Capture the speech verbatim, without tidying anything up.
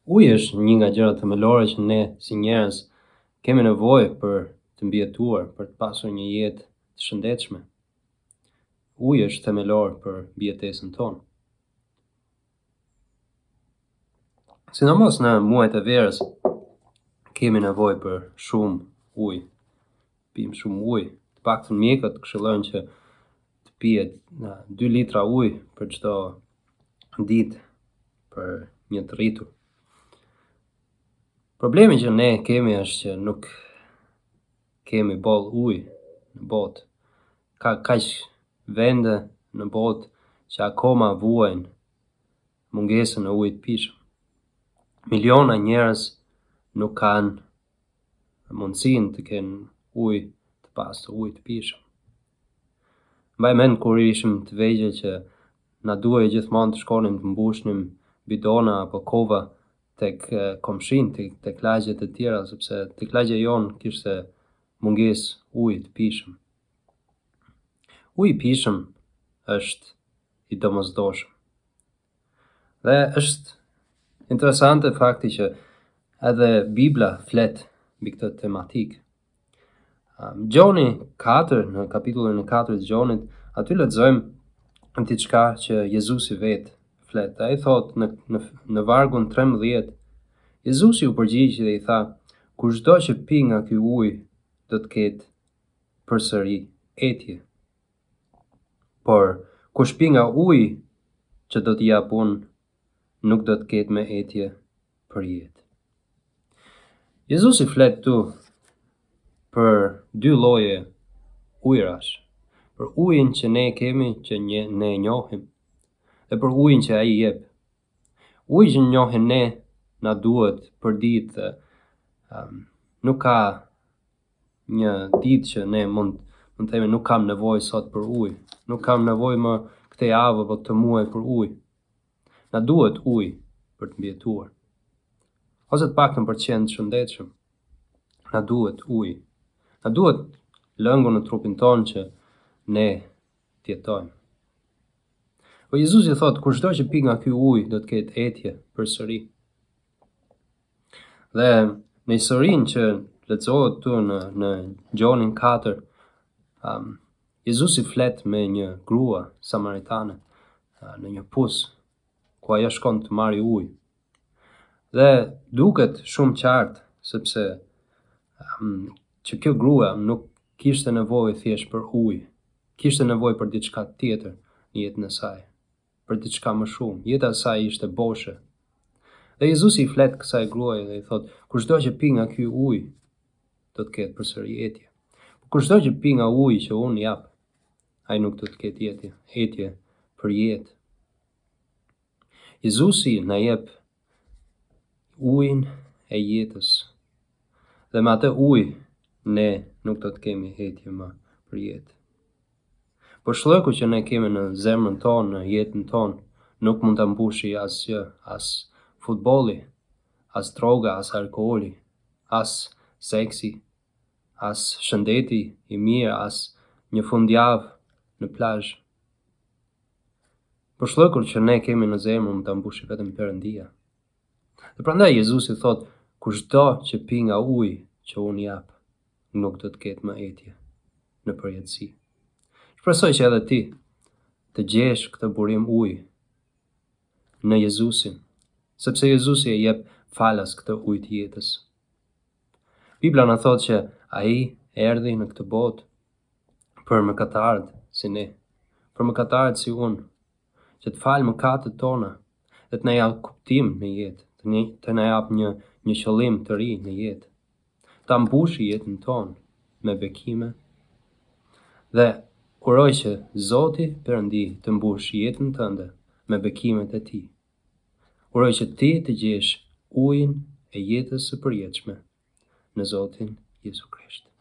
Uji është një nga gjërat themelore që ne si njerëz kemi nevojë për të mbijetuar, për të pasur një jetë të shëndetshme. Uji është themelor për mbijetesën tonë. Sidomos në muajt e verës kemi nevojë për shumë ujë. Pim shumë ujë. Të paktën mjekët këshillojnë që të pihet dy litra ujë për çdo ditë për një të rritur. Problemi që ne kemi është që nuk kemi boll ujë në botë. Ka kaq vende në botë që akoma vuajnë mungesën e ujit të pijshëm. Miliona njerëz nuk kanë mundësinë të kenë ujë të pastër, ujë të pijshëm. Mbaj mend kur ishim të vegjël që na duhej gjithmonë të shkonim të mbushnim bidona apo kova tek komshin, tek, tek lagjet e tjera, sepse tek lagja jonë kishte mungesë uji të pijshëm. Uji i pijshëm është i domosdoshëm. Dhe është interesante fakti që edhe Bibla flet mbi këtë tematikë. Um, Gjoni katër, në kapitullin e katër të Gjonit, aty lexojmë diçka që Jezusi vetë flet. Ai thot në, në, në vargun trembëdhjetë, Jezusi u përgjigji dhe i tha: kushdo që pi nga ky ujë do të ketë përsëri etje. Por kush pi nga uji që do t'i jap unë, nuk do të ketë me etje për jetë. Jezusi flet tu për dy lloje ujërash, për ujin që ne kemi, që ne, ne njohim, dhe për ujin që ai jep. Uji që njohim ne na duhet për ditë dhe um, nuk ka një ditë që ne mund mund të themi nuk kam nevojë sot për ujë, nuk kam nevojë më këtë javë apo këtë muaj për ujë. Na duhet ujë për të mbijetuar. Ose të paktën për të qenë të shëndetshëm. Na duhet ujë. Na duhet lëngu në trupin tonë që ne të jetojmë. Po Jezusi thot, kushdo që pi nga ky ujë do të ketë etje përsëri. Dhe në historinë që lexohet tu në në Gjonin katër, um, Jezusi flet me një grua samaritane uh, në një pus ku ajo shkon të marrë ujë. Dhe duket shumë qartë sepse um, që kjo grua nuk kishte nevojë thjesht për ujë, kishte nevojë për diçka tjetër në jetën e saj, për diçka më shumë. Jeta e saj ishte boshe. Dhe Jezusi i flet kësaj gruaje dhe i thot, kushdo që pi nga ky ujë do të ketë përsëri etje. Kushdo që pi nga uji që unë jap, ai nuk do të ketë etje, etje për jetë. Jezusi na jep ujin e jetës. Dhe me atë ujë ne nuk do të kemi etje më për jetë. Por shllëku që ne kemi në zemrën tonë, në jetën tonë, nuk mund ta mbushi asgjë, as futbolli, as droga, as alkooli, as seksi, as shëndeti i mirë, as një fundjavë në plazh. Por shllëkur që ne kemi në zemër mund ta mbushi vetëm Perëndia. Dhe prandaj Jezusi thot, kushdo që pi nga uji që unë jap, nuk do të ketë më etje në përjetësi. Shpresoj që edhe ti të gjesh këtë burim uji në Jezusin, sepse Jezusi e jep falas këtë ujë të jetës. Bibla na thot që ai erdhi në këtë botë për mëkatarët si ne, për mëkatarët si unë, që të falë mëkatet tona dhe të na jap kuptim në jetë, të, një, të na jap një një qëllim të ri në jetë, ta mbushi jetën tonë me bekime dhe uroj që Zoti Perëndi të mbush jetën tënde me bekimet e tij. Uroj që ti të gjesh ujin e jetës së përjetshme në Zotin Jezu Krisht.